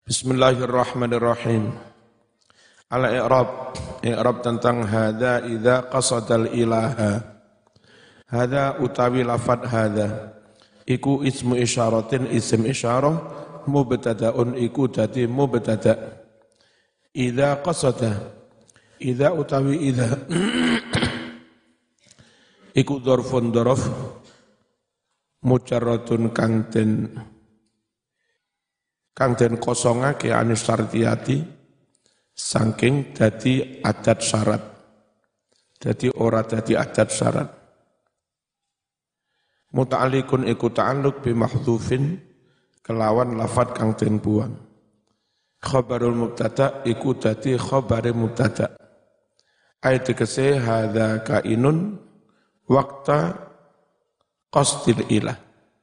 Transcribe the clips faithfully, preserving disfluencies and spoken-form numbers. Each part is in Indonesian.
Bismillahirrahmanirrahim. Al-i'rab, i'rab tentang hadza idza qasadal ilaha. Hadza utawi lafad hadza iku ismu isyaratin, isim isyarah, mubtada'un iku dadi mubtada'. Idza qasada, idza utawi idza iku dzarfun dzaraf mujarradun kang den kang den kosongake anis syartiyati saking dadi adat syarat. Dadi ora dadi adat syarat. Muta'alliqun iku ta'alluq bi mahdhufin kelawan lafad kang den buang. Khabarul mubtada iku dadi khabare mubtada. Ayat tegese hadza kainun waqta qasdil ilah.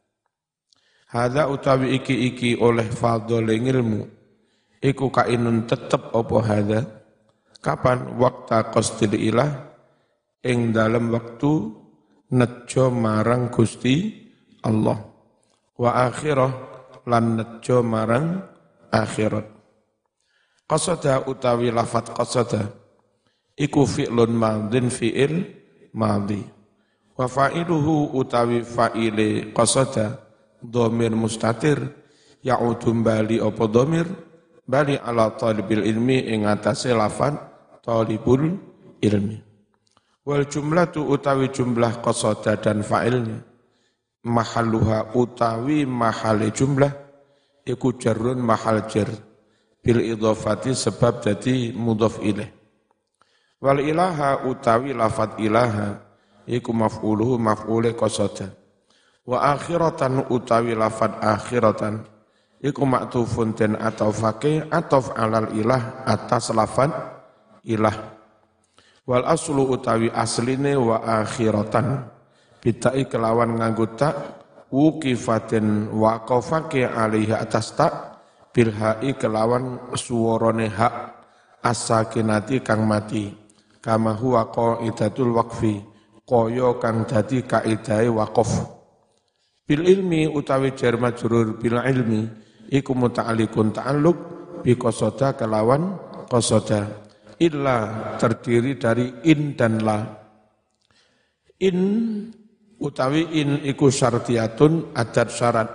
Hadza utawi iki-iki oleh fadhole ilmu iku kainun tetep apa hadza kapan waqta qasdil ilah ing dalem waktu nejo marang Gusti Allah wa akhirah lan nejo marang akhirat. Qasada utawi lafat qasada iku fi'lun madhin fi'il madhi wa fa'iluhu utawi fa'ile qasada dhamir mustatir ya'udu bali apa dhamir bali ala talibil ilmi ing atase lafat talibul ilmi. Wal jumlatu utawi jumlah qasada dan fa'ilnya mahalluha utawi mahale jumlah iku jarrun mahal jar bil idhafati sebab dadi mudhaf ilaih. Wal ilaha utawi lafat ilaha iku maf'uluhu maf'ule qasada. Wa akhiratan utawi lafat akhiratan iku maktufun den atofake atof alal ilah atas lafat ilah. Wal aslu utawi asline wa akhiratan bitai kelawan nganggo tak wuqifatin waqafake alaihi atas tak bilhai kelawan suwarane hak as-sakinati kang mati kama huwa qaidatul waqfi kaya kang dadi kaidahe waqaf. Bil ilmi utawi jar majrur bil ilmi iku muta'alliqun ta'alluq bi qasada kelawan qasada illa terdiri dari in dan la. In utawi in iku syartiyatun adat syarat.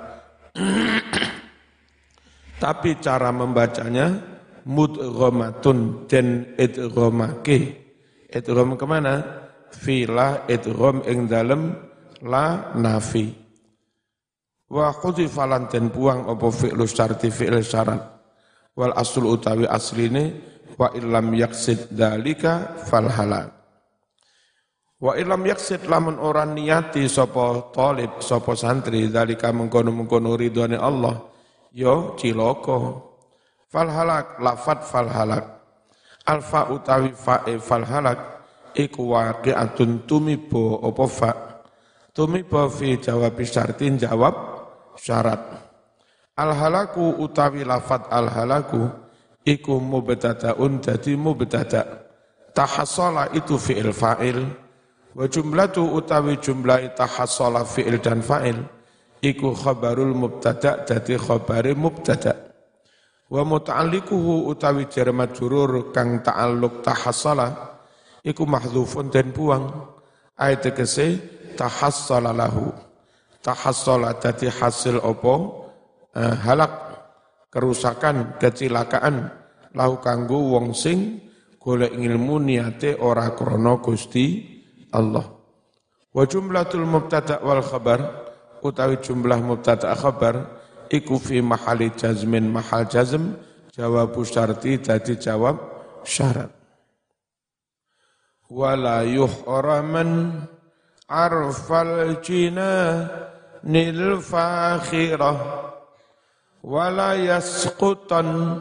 Tapi cara membacanya mudghamatun den idghamake. Idgham kemana? Fila idgham ing dalem la nafi. Wa khudzifa lan den buang apa fi'lu syarti fi'il syarat. Wal aslu utawi asline wa illam yaqsid dzalika fal halak. Wa illam yaqsid lamun ora niyati sapa talib sapa santri dzalika mengkono-mengkono ridwane Allah ya cilaka. Fal halak lafat fal halak. Alfa utawi fa'e fal halak iku waqi'atun tumibo apa fa. Tumibo fi jawab syartin jawab syarat. Al-halaku utawi lafat al-halaku iku mubtada'un dadi mubtada'. Tahassala itu fi'il fa'il wa jumlatu utawi jumlah tahassala fi'il dan fa'il iku khabarul mubtada' dadi khabare mubtada'. Wa muta'alliquhu utawi jar majrur kang ta'alluq tahassala iku mahdhufun den buang ayat tegese tahassala lahu. Tahassala dadi hasil apa eh, halak kerusakan kecelakaan lahu kanggo wong sing golek ilmu niate ora krana Gusti Allah. Wa jumlatul mubtada' wal khabar utawi jumlah mubtada' khabar iku fi mahali jazmin mahal jazm jawab syarti dadi jawab syarat. Wala yuhraman arfal jina nil fakhirah wala yasqutan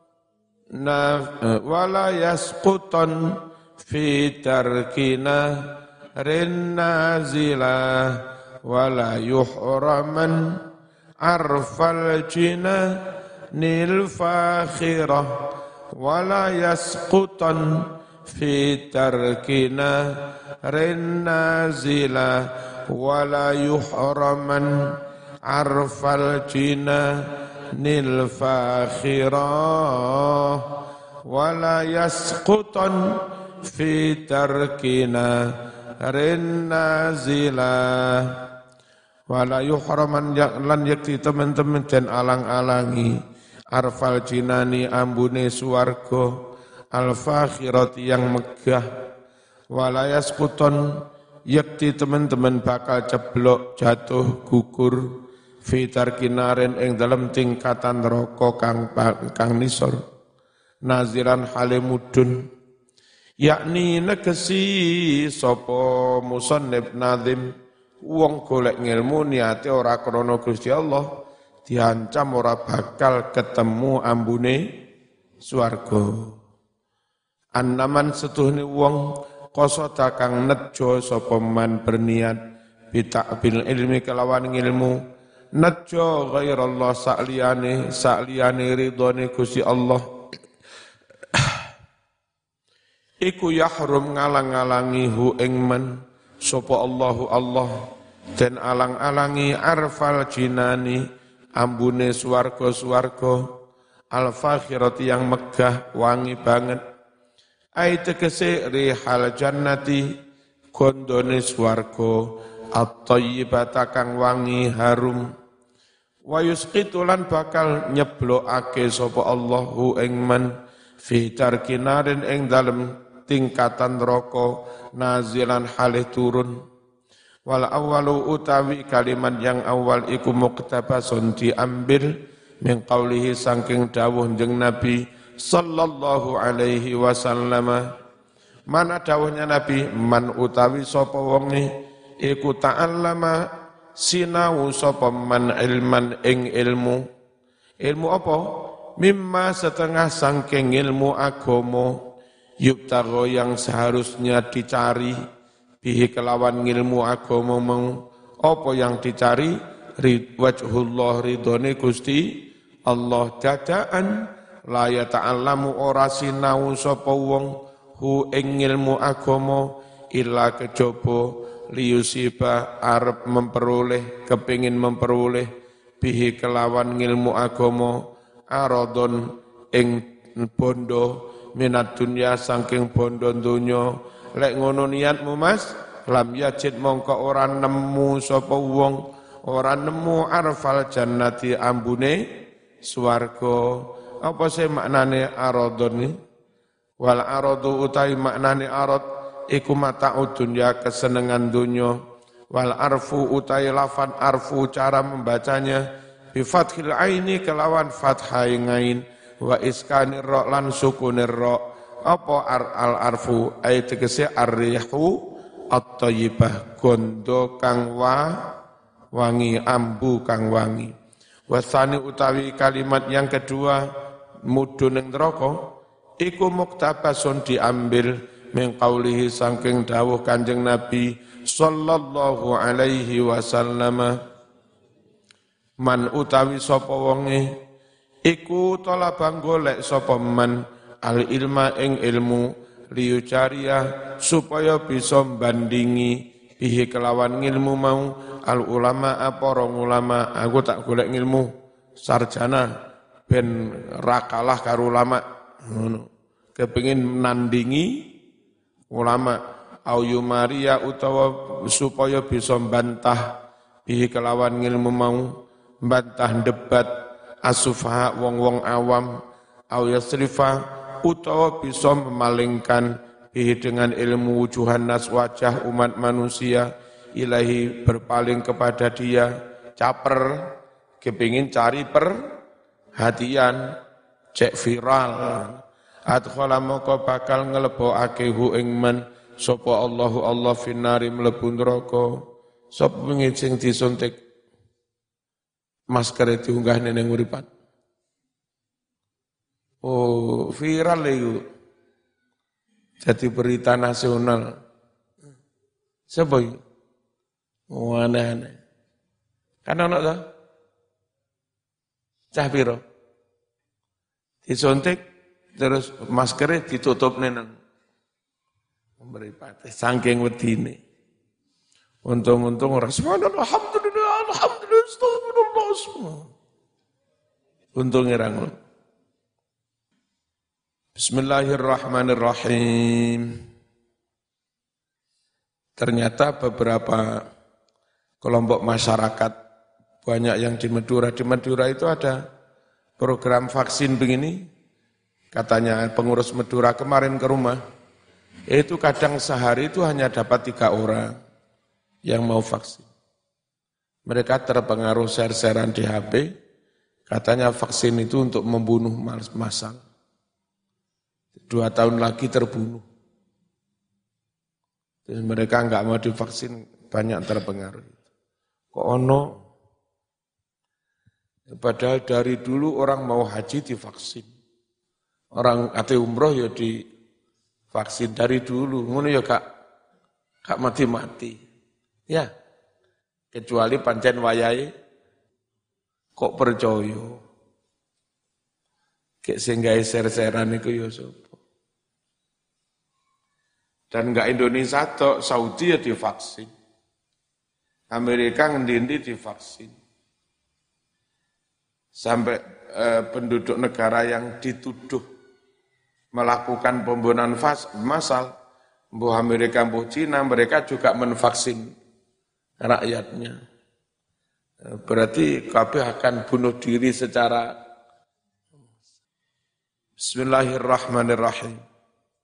wala yasqutan fi tarkina rin nazilah wala yuhraman arfal jina nil fakhirah wala yasqutan fi tarkina rin nazilah wala yuhraman arfal jina nil fakhirah wala yasqutan fi tarkina rin nazilah wala yuhraman lan yakti teman-teman dan alang-alangi arfal jinani ambune suwarga al fakhirati yang megah wala yasqutan yakti teman-teman bakal ceblok jatuh gugur fitar kinaren ing dalam tingkatan neraka kang kang nisor naziran halimudun yakni negesi sapa musannif nazim wong golek ngilmu niate ora krana Gusti Allah diancam ora bakal ketemu ambune swarga annaman setuhne wong qasada kang nejo sapa man berniat bita'bil ilmi kelawan ilmu nejo ghairallah sakliyane sakliyane ridhone Gusti Allah iku yahrum ngalang-alangi hu ing man sapa Allahu Allah dan alang-alangi arfal jinani ambune swarga-swarga al fakhirati yang megah wangi banget ai tegese rihal jannati gondone swarga at-thayyibata kang wangi harum wa yusqitulan bakal nyeblokake sapa Allahu ing man fi tarkinarin ing dalem tingkatan neraka nazilan halih turun wal awwalu utawi kalimat yang awal iku muktabasun diambil min qaulihi saking dawuh jeung Nabi sallallahu alaihi wasallam mana dawuhnya Nabi man utawi sapa wonge iku ta'allama sinau sapa man ilman ing ilmu ilmu apa mimma setengah saking ilmu agama yubtagho yang seharusnya dicari bihi kelawan ilmu agama mau apa yang dicari wajhullah ridhone Gusti Allah dadaan la ya ta'allamu ora sinau sapa wong hu ing ilmu agama illa kejaba liyusiba arep memperoleh kepingin memperoleh bihi kelawan ilmu agama aradon ing bondo minat dunya saking bondo donya lek ngono niatmu Mas lam yajid mongko ora nemu sapa wong ora nemu arfal jannati ambune swarga apa sih maknane aradon ni wal aradu utai maknane arad iku mata'ud dunya kesenengan dunya wal arfu utai lafan arfu cara membacanya bi fathil aini kelawan fathai ngain wa iskanir ra lan sukunir ra apa ar al arfu ay tegese ar-rihu at-thayyibah gondo kang wa wangi ambu kang wangi wasani utawi kalimat yang kedua mudun ing neraka iku muktabasun diambil min qaulihi saking dawuh Kanjeng Nabi sallallahu alaihi wasallam man utawi sapa wonge iku talabang golek sapa man al ilma ing ilmu liyu cariya supaya bisa bandingi bihi kelawan ilmu mau al ulama apa ulama aku tak golek ilmu sarjana ben rakalah karo ulama ngono kepengin nandingi ulama au yumaria utawa supaya bisa bantah bihi kelawan ilmu mau bantah debat asufaha wong-wong awam au yasrifa utawa bisa memalingkan bihi dengan ilmu wujuhan nas wajah umat manusia ilahi berpaling kepada dia caper kepingin cari perhatian cek viral adkhala moko bakal nglebokake hu ing man sapa Allahu Allah finari mlebu neraka sapa wingi sing disuntik masker diunggah ning uripan oh viral itu jadi berita nasional sapa iki oh aneh-aneh kan ana ta cah piro disuntik terus maskernya ditutup nang mripate saking wedine untung-untung ora subhanallah alhamdulillah alhamdulillah astagfirullah Untung irang. Bismillahirrahmanirrahim. Ternyata beberapa kelompok masyarakat banyak yang di Madura. Di Madura itu ada program vaksin begini. Katanya pengurus Madura kemarin ke rumah. Itu kadang sehari itu hanya dapat tiga orang yang mau vaksin. Mereka terpengaruh share-sharean di H P. Katanya vaksin itu untuk membunuh massal. Dua tahun lagi terbunuh. Terus mereka enggak mau divaksin, banyak terpengaruh. Kok ono? Padahal dari dulu orang mau haji divaksin. Orang ate umroh ya divaksin dari dulu. Ngono ya kak, kak mati-mati. Ya, kecuali pancen wayahe kok percaya. Kek sehingga ser-seran itu ya sapa. Dan enggak Indonesia tok, Saudi ya divaksin. Amerika ngendi-endi divaksin. Sampai eh, penduduk negara yang dituduh melakukan pembunuhan massal, mbuh Amerika, mbuh Cina, mereka juga menvaksin rakyatnya. Berarti kabeh akan bunuh diri secara Bismillahirrahmanirrahim.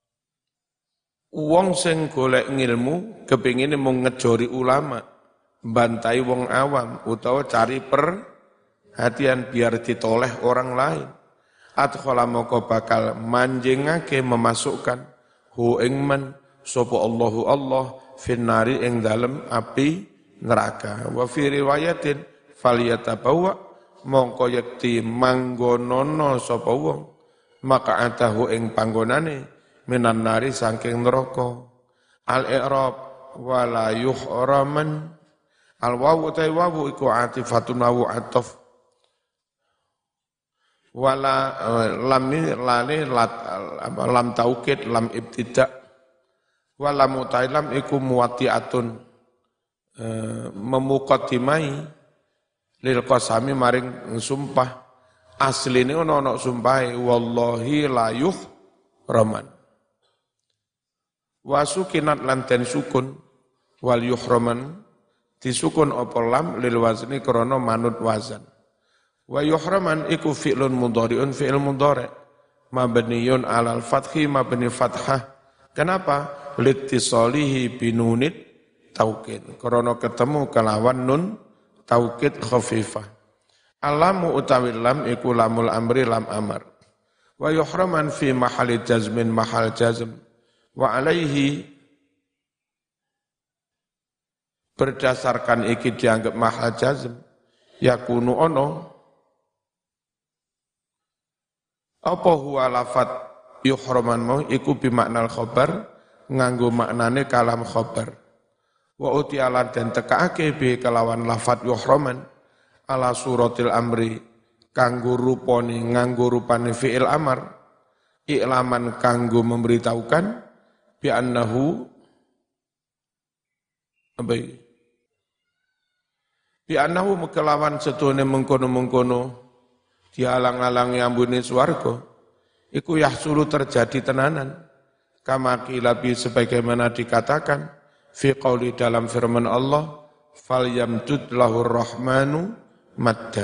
Wong sing golek ngilmu kepingine mung ngejori ulama, bantai wong awam utawa cari perhatian biar ditoleh orang lain. Adkhala moko bakal manjingake memasukkan hu ing man sapa Allahu Allah finnari ing dalem api neraka. Wa fi riwayatin falyatabawa mongko yekti manggonono sapa wong maka atahu ing panggonane minan nari saking neraka. Al-i'rab wala yuhraman al wawu ta wawu iku atifatun wawu ataf wala lam lale lat lam taukid lam ibtida wala mutailam iku muwati'atun e, memuqaddimai lil qasami maring sumpah asline ono ono sumpahe wallahi la yuhraman. Wasukinat lan den sukun wal yuhraman disukun apa lam lil wazni krana manut wazan. Wa yuhraman iku fi'lun mudhari'un fi'il mudhari' mabniyun 'alal fathi mabni fathah. Kenapa? Litisalihi binunit taukid. Krana ketemu kelawan nun taukid khafifah. Alamu utawi lam iku lamul amri lam amar. Wa yuhraman fi mahali jazmin mahal jazm. Wa alaihi berdasarkan iki dianggap mahal jazm yakunu ono apa huwa lafat yuhraman mau iku bimaknal khobar nganggo maknane kalam khobar wa utialan dan tekaake bi kelawan lafat yuhraman ala suratil amri kanggo rupane nganggo rupane fi'il amar i'laman kanggo memberitahukan bi annahu apa iki bi annahu mekelawan setune mengkono-mengkono dialang-alangi ambune swarga iku yahsulu terjadi tenanan kama kilabi sebagaimana dikatakan fi qauli dalam firman Allah fal yamtud lahur rahmanu madda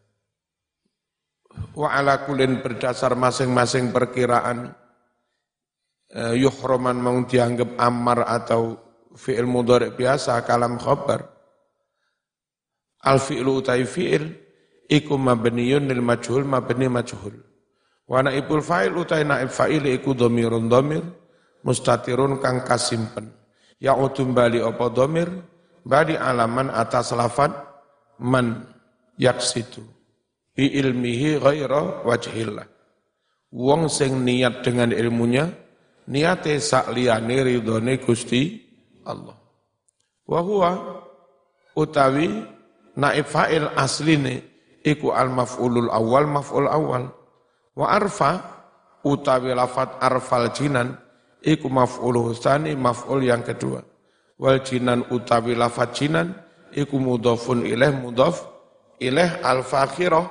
wa ala kullin berdasar masing-masing perkiraan yuhraman mau dianggap amar atau fi'il mudhari' biasa kalam khabar al fi'lu utai fi'il iku mabniyun lil majhul mabni majhul wa naibul fa'il utai naib fa'il iku dhamirun dhamir mustatirun kang kasimpen ya'udum bali apa dhamir bali alaman atas lafad man yaksitu bi ilmihi ghaira wajhillah wong sing niat dengan ilmunya niate sak liyane ridhone Gusti Allah. Wa huwa utawi naib fa'il asline iku al maf'ulul awal maf'ul awal. Wa arfa utawi lafat arfal jinan iku maf'ul tsani maf'ul yang kedua. Wal jinan utawi lafat jinan iku mudhafun ilaih mudhaf ilaih al fakhirah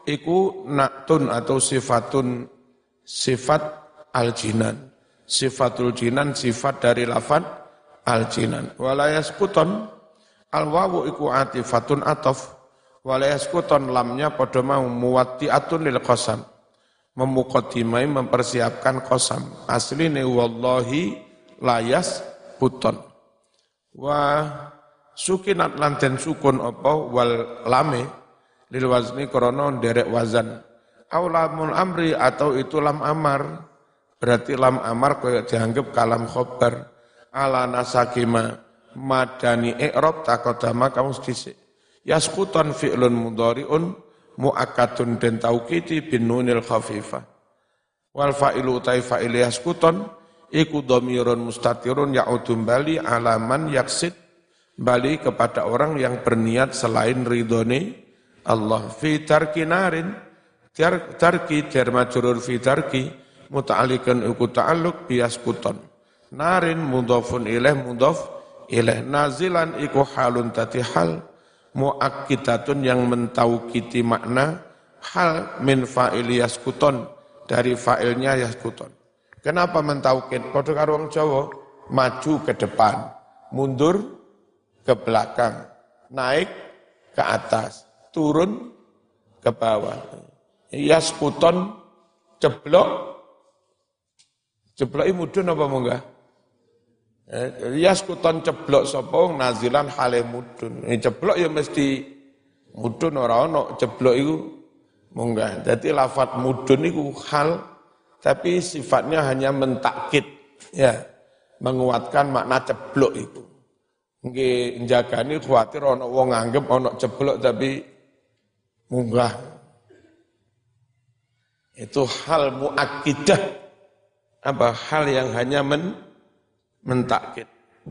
iku naktun atau sifatun sifat al-jinan. Sifatul jinan sifat dari lafad al-jinan. Walayaskuton al-wawu iku atifatun atof. Walayaskuton lamnya pada mau muwatti'atun lil qasam. Memukadimai mempersiapkan qasam. Asline wallahi layas puton. Wa sukinat lanten sukun apa wal lame lil wazni krana derek wazan. Aulamul amri atau itu lam amar. Berarti lam amar kaya dianggap kalam khobar. Ala nasakima madani i'rab takodama kamu sedisik. Yaskutan fi'lun mudhari'un mu'akadun den taukiti bin nunil khafifah. Wal fa'ilu utai fa'il yaskutan iku dhamirun mustatirun ya'udum bali alaman yaksid bali kepada orang yang berniat selain ridhone Allah. Fi tarki narin tarki jar majrur fi tarki muta'alliqan iku ta'alluq biyaskuton. Narin mudhafun ilaih mudhaf ilaih. Nazilan iku halun tati hal muakkidatun yang mentaukiti makna hal min fa'il yaskuton dari fa'ilnya yaskuton. Kenapa mentaukid? Padha karo wong Jawa, maju ke depan, mundur ke belakang, naik ke atas, turun ke bawah. Yaskuton ceblok. Ceblok mudun apa munggah? Yaskuton ceblok sapa nazilan hale mudun. Ini ceblok ya mesti mudun ora ono ceblok iku munggah. Dadi lafat mudun iku hal tapi sifatnya hanya mentakkid ya, menguatkan makna ceblok itu. Nggih njagani kuwatir ana wong nganggep ana ceblok tapi munggah. Itu hal muakkidah. Apa hal yang hanya men, mentakkid.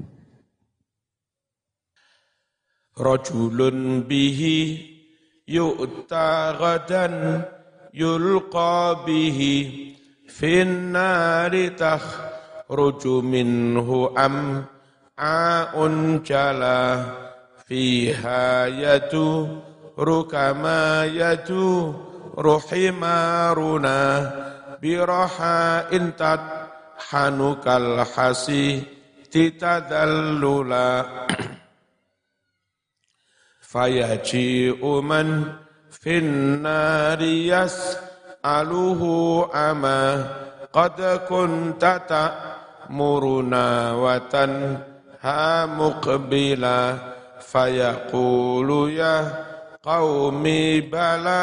Rajulun bihi yu'ta ghadan yulqa bihi fin nari takhruju minhu am'aun jala fiha yatu rukama yatu ruhimaruna biraha intat hanukal hasi titadallula fayaji'u man fin nari yas'aluhu ama qad kunta ta'muruna wa tanha muqbila fayaqulu ya qaumi bala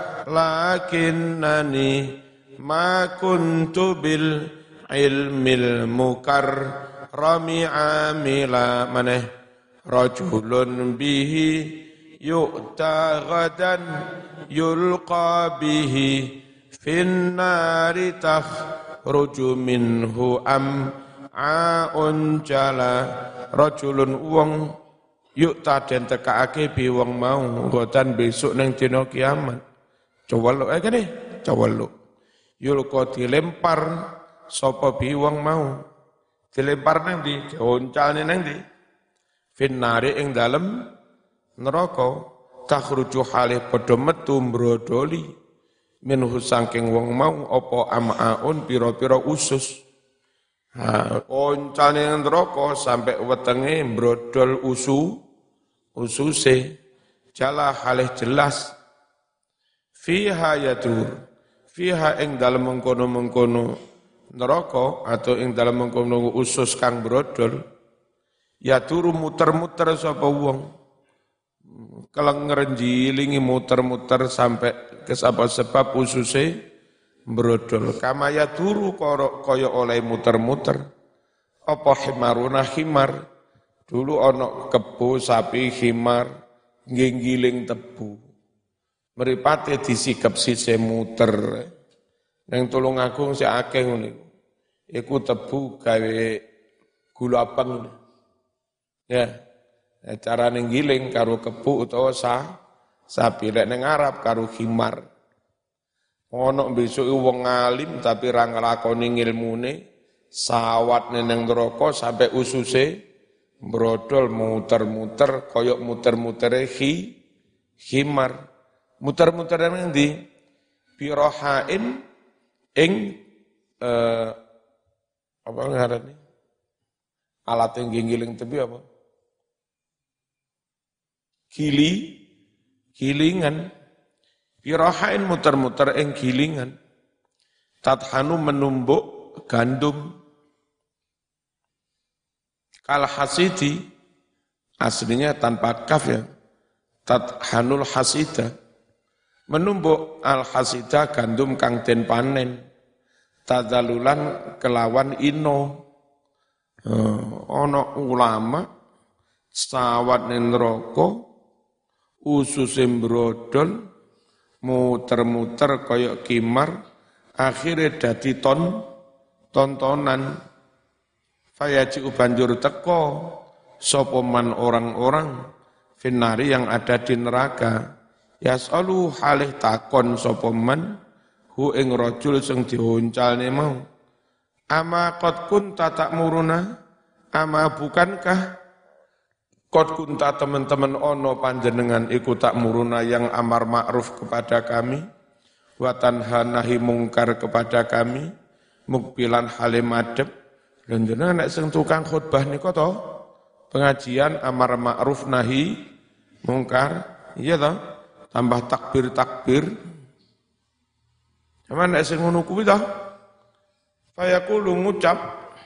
lakinnani ma kuntu bil ilmil mukarrami amila maneh rajulun bihi yu'ta ghadan yulqa bihi fin nari takhruju minhu am'aun jala rajulun wong yu'ta den tekaake bi wong mau ghadan besok nang dina kiamat coweluk ae kene coweluk yulqa dilempar sapa bi wong mau dilempar nang ndi dioncalne nang ndi finnari ing dalem neraka takhruju halih padha metu mbrodoli minhu saking wong mau apa amaun pira-pira usus ha oncalne nang neraka sampai wetenge mbrodol usu ususe jala halih jelas fiha yadur fiha ing dalem mengkono-mengkono neraka atau ing dalem mengkono usus kang brodol ya turu muter-muter sapa wong kelenger njilingi muter-muter sampai ke sebab ususe brodol kama ya turu kaya oleh muter-muter apa himaruna himar dulu ana kebo sapi himar nggiling tebu mripate disikep sise muter ning Tulungagung sik akeh ngene iku tebu gawe gula abang ya carane ngiling karo kebu utawa sa sapi lek ning Arab karo khimar ono besok wong alim tapi ra nglakoni ngilmune sawat ning neraka sampai ususe brodol muter-muter koyok muter-mutere khi khimar Muter-muter nang ndi? Birohain ing eh, apa ngarane? Alat yang giling tebi apa? Gili, gilingan. Birohain muter-muter ing gilingan. Tathanu menumbuk gandum. Kal hasidi, aslinya tanpa kaf ya. Tathanul hasida. Menumbuk al hasida gandum kang den panen. Tadalulan kelawan ino. Uh, ono ulama sawat ning neraka ususe mbrodol muter-muter kaya kimar akhire dadi ton tontonan fayaji banjur teko sapa man orang-orang finari yang ada di neraka yasalu halih takon sapa man hu ing rajul sing diuncalne mau ama qad kunta ta'muruna ama bukankah qad kunta teman-teman ono panjenengan iku ta'muruna yang amar ma'ruf kepada kami wa tanha nahi mungkar kepada kami mukbilan halim adep lha jenengan nek sing tukang khutbah nika to pengajian amar ma'ruf nahi mungkar iya to tambah takbir-takbir sama nek sing ngono kuwi to fayaqulu ngucap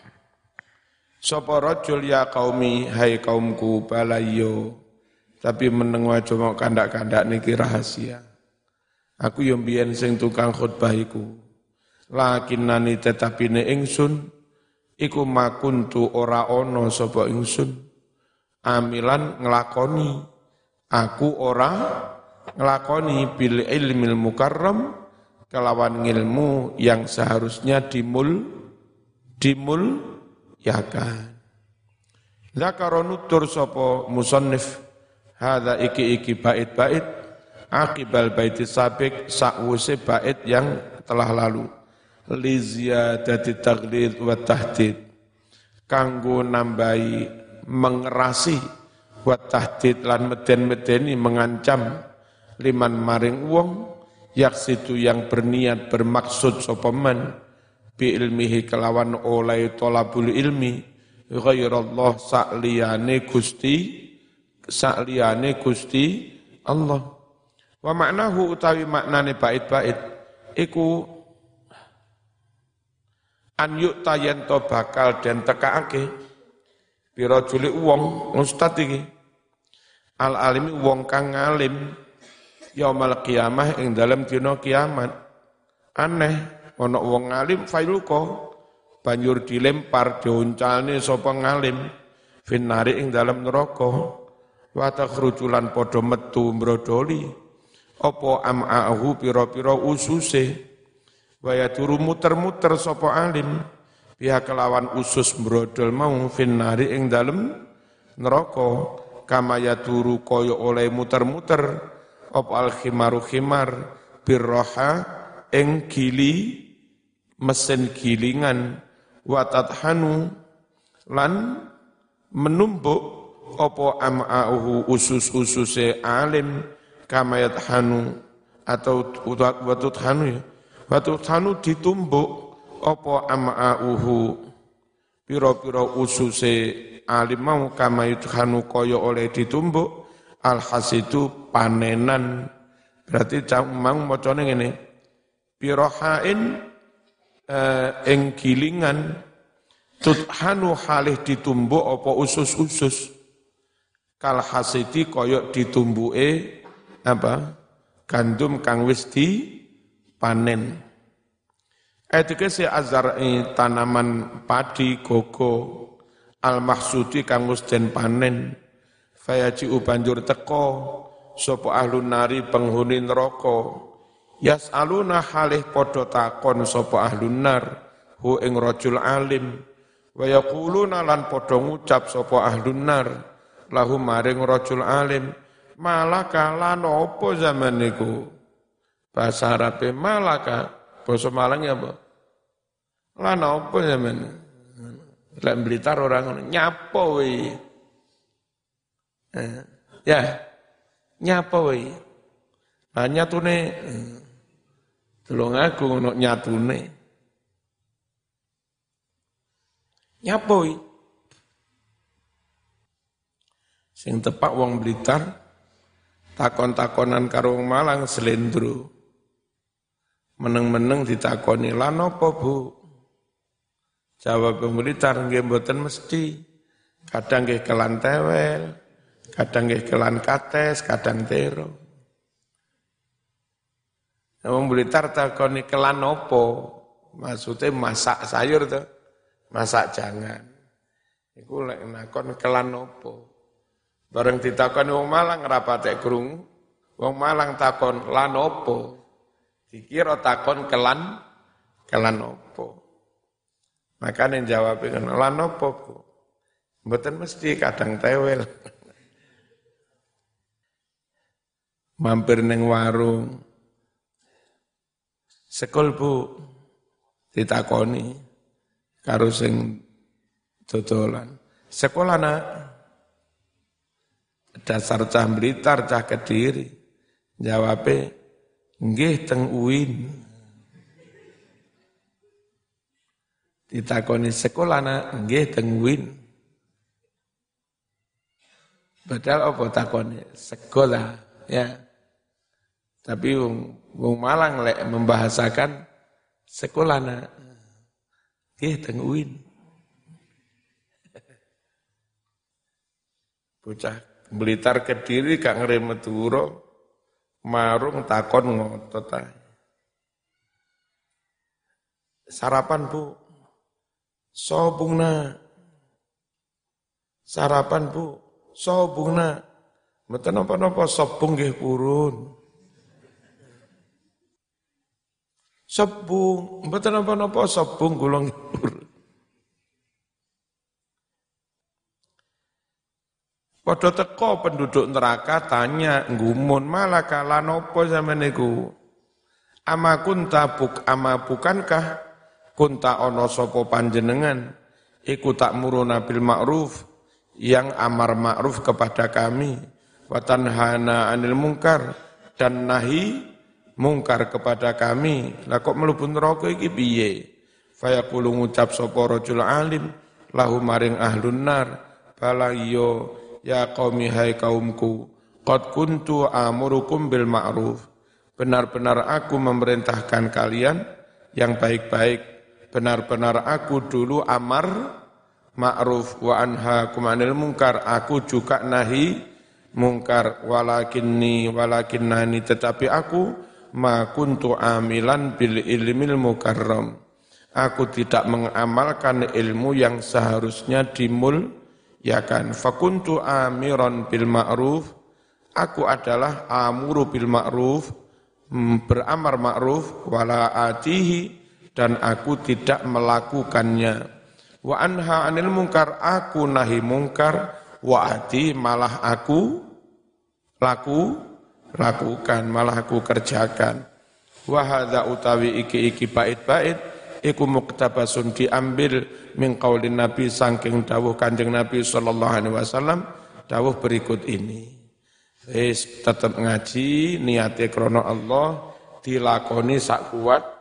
sapa rajul ya qaumi hai kaumku balayo tapi meneng wae cuma kandak-kandak niki rahasia aku yo mbiyen sing tukang khutbah iku lakinnani tetapine ingsun iku makuntu ora ana sapa ingsun amilan nglakoni aku ora nglakoni bil ilmil mukarram kelawan ilmu yang seharusnya dimul dimul yakan. Zakara nutur sapa musannif hadza iki iki bait-bait akibal baiti sabik sakwuse bait yang telah lalu li ziyadati taghlid wa tahdid kanggo nambahi mengerasi wa tahdid lan meden-medeni mengancam liman maring wong yaksitu yang berniat bermaksud sopaman bi ilmihi kelawan oleh tolabul ilmi ghairallah sa'liyane gusti sa'liyane gusti Allah wa maknahu utawi maknane bait-bait iku an yukta yanto bakal den tekaake pira juli wong ustad iki al alimi wong kang ngalim yaumal qiyamah ing dalam dina kiamat aneh ana wong ngalim failuko banjur dilempar diuncalne sapa ngalim finnari ing dalam neraka wa takhrujulan padha metu mbrodoli apa am'ahu pira-pira ususe wa yaturu muter-muter sapa alim pihak kelawan usus mbrodol mau finnari ing dalam neraka kama yaturu kaya oleh muter-muter op al khimaru khimar birroha ing gili mesin gilingan watathanu lan menumbuk opo am'auhu usus-ususe alim kamayat hanu atau watuthanu ya watuthanu ditumbuk opo am'auhu piro-piro ususe alim mau kamayat hanu koyo oleh ditumbuk alhasidu panenan berarti mang macane ngene pirohain eh, ing gilingan tuthanu halih ditumbuk apa usus-usus kal hasidi koyok ditumbuke apa gandum kang wis di panen etikese azari tanaman padi gogo al mahsudi kang wis den panen fayaji banjur teko sapa ahlun nari penghuni neraka yas'aluna halih padha takon sapa ahlun nar hu ing rajul alim wa yaquluna lan padha ngucap sapa ahlun nar lahum maring rajul alim malaka lan apa zaman niku bahasa Arabe malaka basa Malang apa lan apa zaman lek Blitar orang nyapa we ya, nyapa woi. Nah nyatune delok aku ngono nyatune. Nyapoi. Sing tepak wong Blitar takon-takonan karo wong Malang slendro. Meneng-meneng ditakoni lan apa Bu? Jawab wong Blitar nggih mboten mesti. Kadang nggih kelan tewel, kadang nggih kelan kates, kadang tero. Wong Blitar takoni kelan apa? Maksudnya masak sayur to, masak jangan. Iku lek nakon kelan apa? Bareng ditakoni wong Malang rapatek krungu. Wong Malang takon lan apa? Dikira takon kelan kelan apa? Makane jawab kan lan apa, Bu? Mboten mesti kadang tewel. Mampir ning warung. Sekol Bu ditakoni karo sing dodolan. Sekolah Nak. Dasar cah Blitar, cah Kediri. Jawabe nggih teng U I N. Ditakoni sekolah Nak, nggih teng U I N. Padahal apa takoni? Sekolah, ya. Tapi wong wong Malang lek membahasakan sekolah Nak. Nggih teng U I N. Bocah Blitar Kediri gak ngeremet turo, marung takon ngotot ae. Sarapan Bu, sobungna. Sarapan Bu, sobungna. Mboten napa-napa sobung nggih purun. Sobung, mboten napa-napa sobung kula nggih purun. Padha teko penduduk neraka tanya nggumun malah kala napa sampeyan niku. Ama kunta buk ama bukankah kunta ana sapa panjenengan iku tak muruna bil ma'ruf yang amar ma'ruf kepada kami wa tanhana 'anil munkar dan nahi mungkar kepada kami. Lah kok mlebu neraka iki piye? Fayaqulu ngucap sapa rajul alim lahu maring ahlun nar bala yo ya qaumi hai kaumku qad kuntu amurukum bil ma'ruf. Benar-benar aku memerintahkan kalian yang baik-baik. Benar-benar aku dulu amar ma'ruf wa anhaakum 'anil munkar. Aku juga nahi mungkar. Walakinni walakinnani tetapi aku ma kuntu amilan bil ilmil mukarram. Aku tidak mengamalkan ilmu yang seharusnya dimuliakan. Fakuntu amiran bil ma'ruf. Aku adalah amuru bil ma'ruf, beramar ma'ruf wala atihi dan aku tidak melakukannya. Wa anha 'anil munkar, aku nahi mungkar, wa ati malah aku laku lakukan, malah aku kerjakan. Wa hadza utawi iki-iki bait-bait iku muktabasun diambil min qaulin Nabi saking dawuh Kanjeng Nabi sallallahu alaihi wasallam dawuh berikut ini. Wis tetep ngaji niate krana Allah dilakoni sak kuat